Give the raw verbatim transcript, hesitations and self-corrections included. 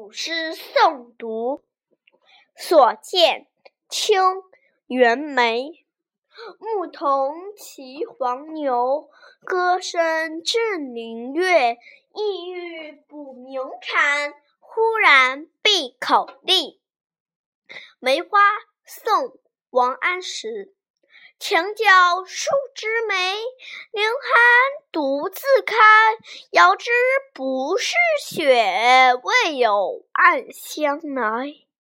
古诗诵读，所见，清·袁枚。牧童骑黄牛，歌声振林樾。意欲捕鸣蝉，忽然闭口立。梅花，宋·王安石。墙角数枝梅，凌寒独自开。遥知不是雪，为有暗香来。